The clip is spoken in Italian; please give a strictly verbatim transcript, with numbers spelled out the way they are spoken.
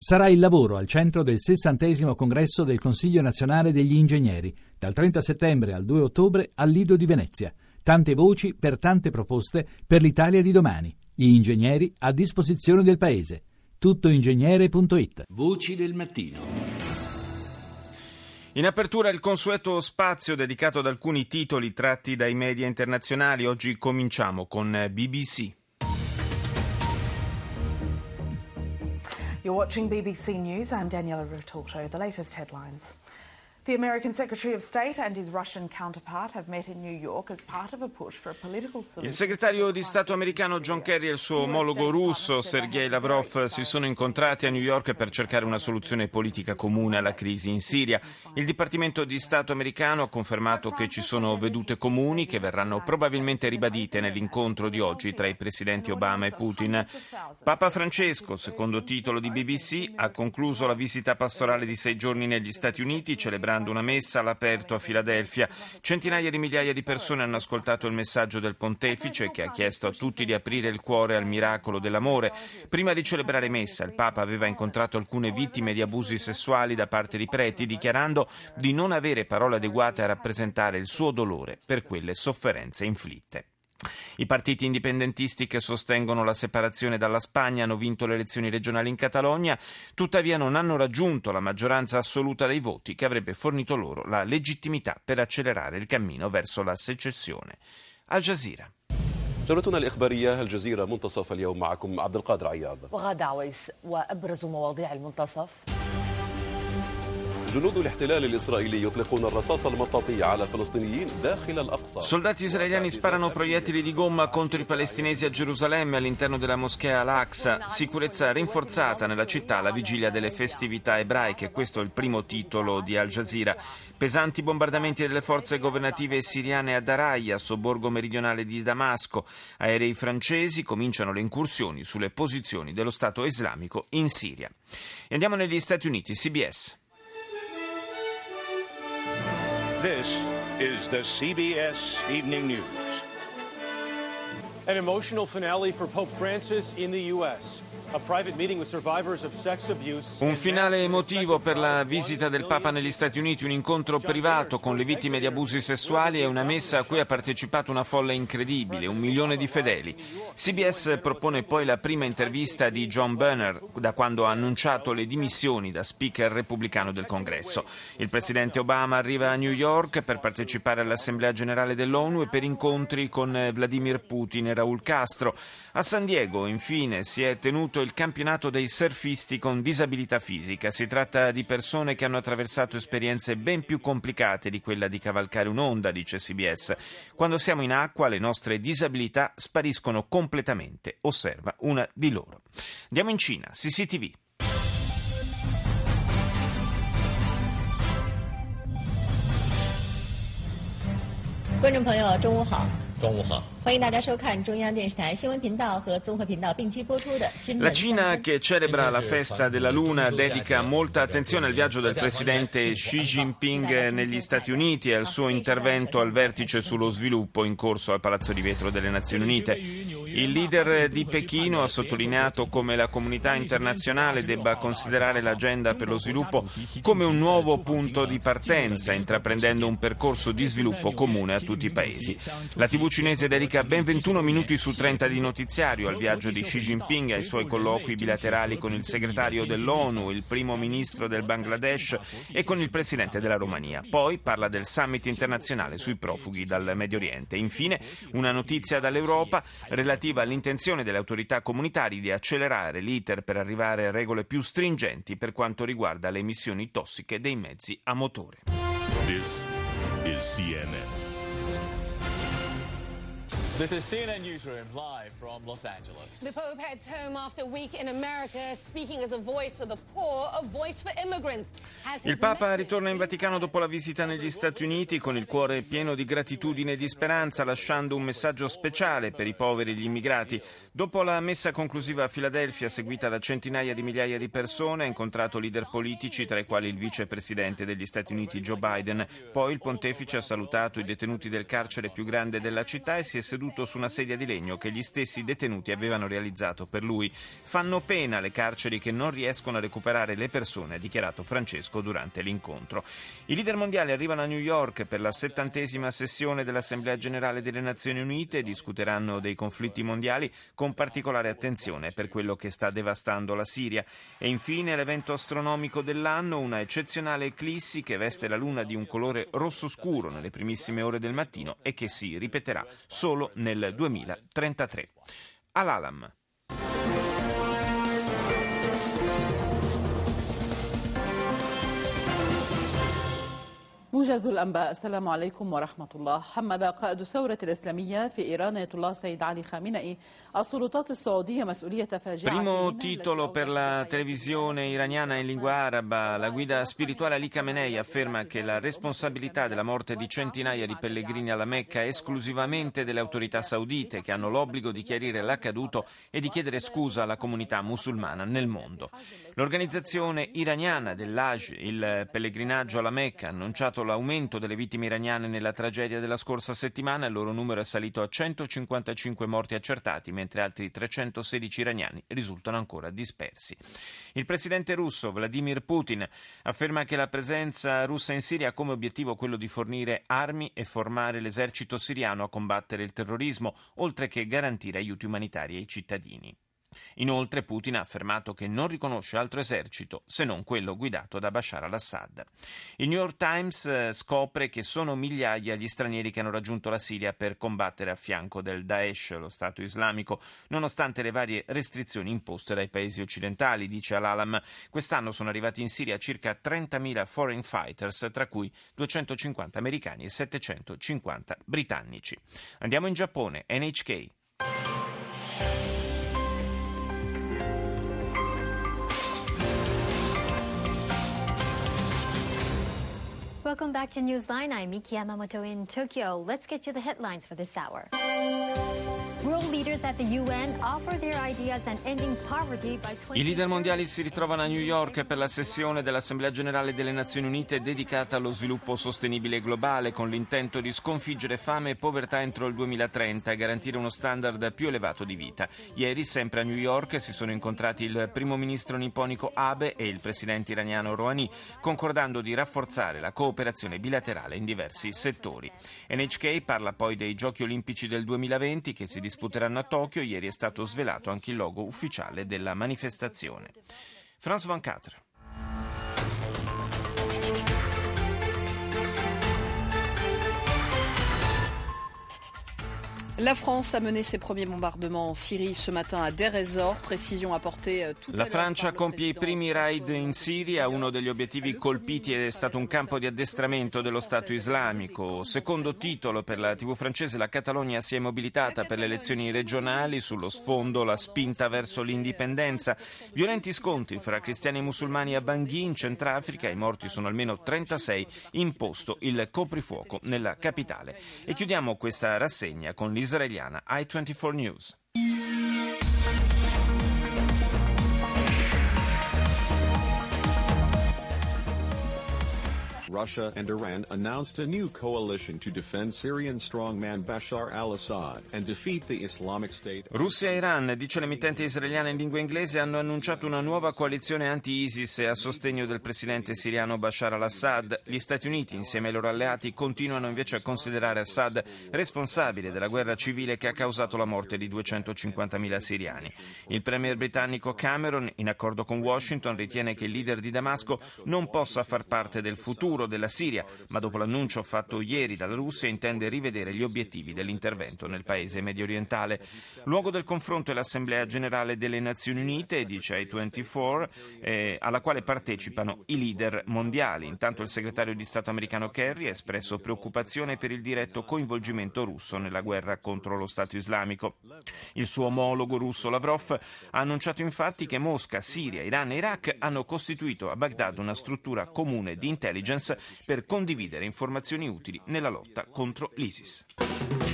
Sarà il lavoro al centro del sessantesimo congresso del Consiglio Nazionale degli Ingegneri, dal trenta settembre al due ottobre al Lido di Venezia. Tante voci per tante proposte per l'Italia di domani. Gli ingegneri a disposizione del Paese. tuttoingegnere punto it. Voci del mattino. In apertura il consueto spazio dedicato ad alcuni titoli tratti dai media internazionali. Oggi cominciamo con B B C. You're watching B B C News. I'm Daniela Rotorto. The latest headlines. The American Secretary of State and his Russian counterpart have met in New York as part of a push for a political solution. Il segretario di Stato americano John Kerry e il suo omologo russo Sergei Lavrov si sono incontrati a New York per cercare una soluzione politica comune alla crisi in Siria. Il Dipartimento di Stato americano ha confermato che ci sono vedute comuni che verranno probabilmente ribadite nell'incontro di oggi tra i presidenti Obama e Putin. Papa Francesco, secondo titolo di B B C, ha concluso la visita pastorale di sei giorni negli Stati Uniti, celebrando una messa all'aperto a Filadelfia. Centinaia di migliaia di persone hanno ascoltato il messaggio del pontefice, che ha chiesto a tutti di aprire il cuore al miracolo dell'amore. Prima di celebrare messa, il Papa aveva incontrato alcune vittime di abusi sessuali da parte di preti, dichiarando di non avere parole adeguate a rappresentare il suo dolore per quelle sofferenze inflitte. I partiti indipendentisti che sostengono la separazione dalla Spagna hanno vinto le elezioni regionali in Catalogna, tuttavia non hanno raggiunto la maggioranza assoluta dei voti che avrebbe fornito loro la legittimità per accelerare il cammino verso la secessione. Al Jazeera. جولتنا الإخبارية الجزيرة منتصف اليوم معكم عبد القادر عياض. وغادة عويس وأبرز مواضيع المنتصف. Soldati israeliani sparano proiettili di gomma contro i palestinesi a Gerusalemme all'interno della moschea Al-Aqsa. Sicurezza rinforzata nella città alla vigilia delle festività ebraiche. Questo è il primo titolo di Al Jazeera. Pesanti bombardamenti delle forze governative siriane a Daraya, sobborgo meridionale di Damasco. Aerei francesi cominciano le incursioni sulle posizioni dello Stato islamico in Siria. E andiamo negli Stati Uniti. C B S. This is the C B S Evening News. An emotional finale for Pope Francis in the U S A private meeting with survivors of sex abuse. Un finale emotivo per la visita del Papa negli Stati Uniti, un incontro privato con le vittime di abusi sessuali e una messa a cui ha partecipato una folla incredibile, un milione di fedeli. C B S propone poi la prima intervista di John Boehner da quando ha annunciato le dimissioni da speaker repubblicano del Congresso. Il presidente Obama arriva a New York per partecipare all'Assemblea Generale dell'ONU e per incontri con Vladimir Putin e Raul Castro. A San Diego, infine, si è tenuto il campionato dei surfisti con disabilità fisica. Si tratta di persone che hanno attraversato esperienze ben più complicate di quella di cavalcare un'onda, dice C B S. Quando siamo in acqua le nostre disabilità spariscono completamente, osserva una di loro. Andiamo in Cina, C C T V. 观众朋友，中午好。 中午好。 欢迎大家收看中央电视台新闻频道和综合频道并机播出的新闻。 La Cina, che celebra la festa della Luna, dedica molta attenzione al viaggio del presidente Xi Jinping negli Stati Uniti e al suo intervento al vertice sullo sviluppo in corso al Palazzo di Vetro delle Nazioni Unite. Il leader di Pechino ha sottolineato come la comunità internazionale debba considerare l'agenda per lo sviluppo come un nuovo punto di partenza, intraprendendo un percorso di sviluppo comune a tutti i paesi. La tivù cinese dedica ben ventuno minuti su trenta di notiziario al viaggio di Xi Jinping e ai suoi colloqui bilaterali con il segretario dell'ONU, il primo ministro del Bangladesh e con il presidente della Romania. Poi parla del summit internazionale sui profughi dal Medio Oriente. Infine, una notizia dall'Europa relativa all'intenzione delle autorità comunitarie di accelerare l'iter per arrivare a regole più stringenti per quanto riguarda le emissioni tossiche dei mezzi a motore. This is C N N. This is C N N Newsroom live from Los Angeles. The Pope heads home after a week in America, speaking as a voice for the poor, a voice for immigrants. Il Papa ritorna in Vaticano dopo la visita negli Stati Uniti con il cuore pieno di gratitudine e di speranza, lasciando un messaggio speciale per i poveri e gli immigrati. Dopo la messa conclusiva a Filadelfia, seguita da centinaia di migliaia di persone, ha incontrato leader politici, tra i quali il vicepresidente degli Stati Uniti Joe Biden. Poi il pontefice ha salutato i detenuti del carcere più grande della città e si è seduto seduto su una sedia di legno che gli stessi detenuti avevano realizzato per lui. Fanno pena le carceri che non riescono a recuperare le persone, ha dichiarato Francesco durante l'incontro. I leader mondiali arrivano a New York per la settantesima sessione dell'Assemblea Generale delle Nazioni Unite e discuteranno dei conflitti mondiali con particolare attenzione per quello che sta devastando la Siria. E infine l'evento astronomico dell'anno, una eccezionale eclissi che veste la luna di un colore rosso scuro nelle primissime ore del mattino e che si ripeterà solo nel duemilatrentatré. Al-Alam. موجز الأنباء. السلام عليكم ورحمة الله. حمد قائد الثورة الإسلامية في إيران آية الله سيد علي خامنئي السلطات السعودية مسؤولية فاجعة. Primo titolo per la televisione iraniana in lingua araba. La guida spirituale Ali Khamenei afferma che la responsabilità della morte di centinaia di pellegrini alla Mecca è esclusivamente delle autorità saudite, che hanno l'obbligo di chiarire l'accaduto e di chiedere scusa alla comunità musulmana nel mondo. L'organizzazione iraniana dell'Hajj, il pellegrinaggio alla Mecca, ha annunciato l'aumento delle vittime iraniane nella tragedia della scorsa settimana. Il loro numero è salito a centocinquantacinque morti accertati, mentre altri trecentosedici iraniani risultano ancora dispersi. Il presidente russo Vladimir Putin afferma che la presenza russa in Siria ha come obiettivo quello di fornire armi e formare l'esercito siriano a combattere il terrorismo, oltre che garantire aiuti umanitari ai cittadini. Inoltre Putin ha affermato che non riconosce altro esercito se non quello guidato da Bashar al-Assad. Il New York Times eh, scopre che sono migliaia gli stranieri che hanno raggiunto la Siria per combattere a fianco del Daesh, lo Stato islamico, nonostante le varie restrizioni imposte dai paesi occidentali, dice Al-Alam. Quest'anno sono arrivati in Siria circa trentamila foreign fighters, tra cui duecentocinquanta americani e settecentocinquanta britannici. Andiamo in Giappone, N H K. Welcome back to Newsline. I'm Miki Yamamoto in Tokyo. Let's get you the headlines for this hour. World leaders at the U N offer their ideas on ending poverty by twenty. I leader mondiali si ritrovano a New York per la sessione dell'Assemblea Generale delle Nazioni Unite dedicata allo sviluppo sostenibile globale, con l'intento di sconfiggere fame e povertà entro il duemilatrenta e garantire uno standard più elevato di vita. Ieri, sempre a New York, si sono incontrati il primo ministro nipponico Abe e il presidente iraniano Rouhani, concordando di rafforzare la cooperazione bilaterale in diversi settori. N H K parla poi dei Giochi Olimpici del duemilaventi che si disputeranno a Tokyo. Ieri è stato svelato anche il logo ufficiale della manifestazione. France ventiquattro. La France a mené ses premiers bombardements en Syrie ce matin à Deir ez-Zor, précision apportée tout à l'heure. La Francia compie i primi raid in Siria. Uno degli obiettivi colpiti è stato un campo di addestramento dello Stato islamico. Secondo titolo per la tivù francese, la Catalogna si è mobilitata per le elezioni regionali, sullo sfondo la spinta verso l'indipendenza. Violenti scontri fra cristiani e musulmani a Bangui in Centrafrica, i morti sono almeno trentasei, imposto il coprifuoco nella capitale. E chiudiamo questa rassegna con l'Israeliana I ventiquattro News. Russia and Iran announced a new coalition to defend Syrian strongman Bashar al-Assad and defeat the Islamic State. Russia e Iran, dice l'emittente israeliana in lingua inglese, hanno annunciato una nuova coalizione anti-ISIS a sostegno del presidente siriano Bashar al-Assad. Gli Stati Uniti, insieme ai loro alleati, continuano invece a considerare Assad responsabile della guerra civile che ha causato la morte di duecentocinquantamila siriani. Il premier britannico Cameron, in accordo con Washington, ritiene che il leader di Damasco non possa far parte del futuro della Siria, ma dopo l'annuncio fatto ieri dalla Russia intende rivedere gli obiettivi dell'intervento nel paese mediorientale. Luogo del confronto è l'Assemblea Generale delle Nazioni Unite, dice I ventiquattro, eh, alla quale partecipano i leader mondiali. Intanto il segretario di Stato americano Kerry ha espresso preoccupazione per il diretto coinvolgimento russo nella guerra contro lo Stato islamico. Il suo omologo russo Lavrov ha annunciato infatti che Mosca, Siria, Iran e Iraq hanno costituito a Baghdad una struttura comune di intelligence per condividere informazioni utili nella lotta contro l'ISIS.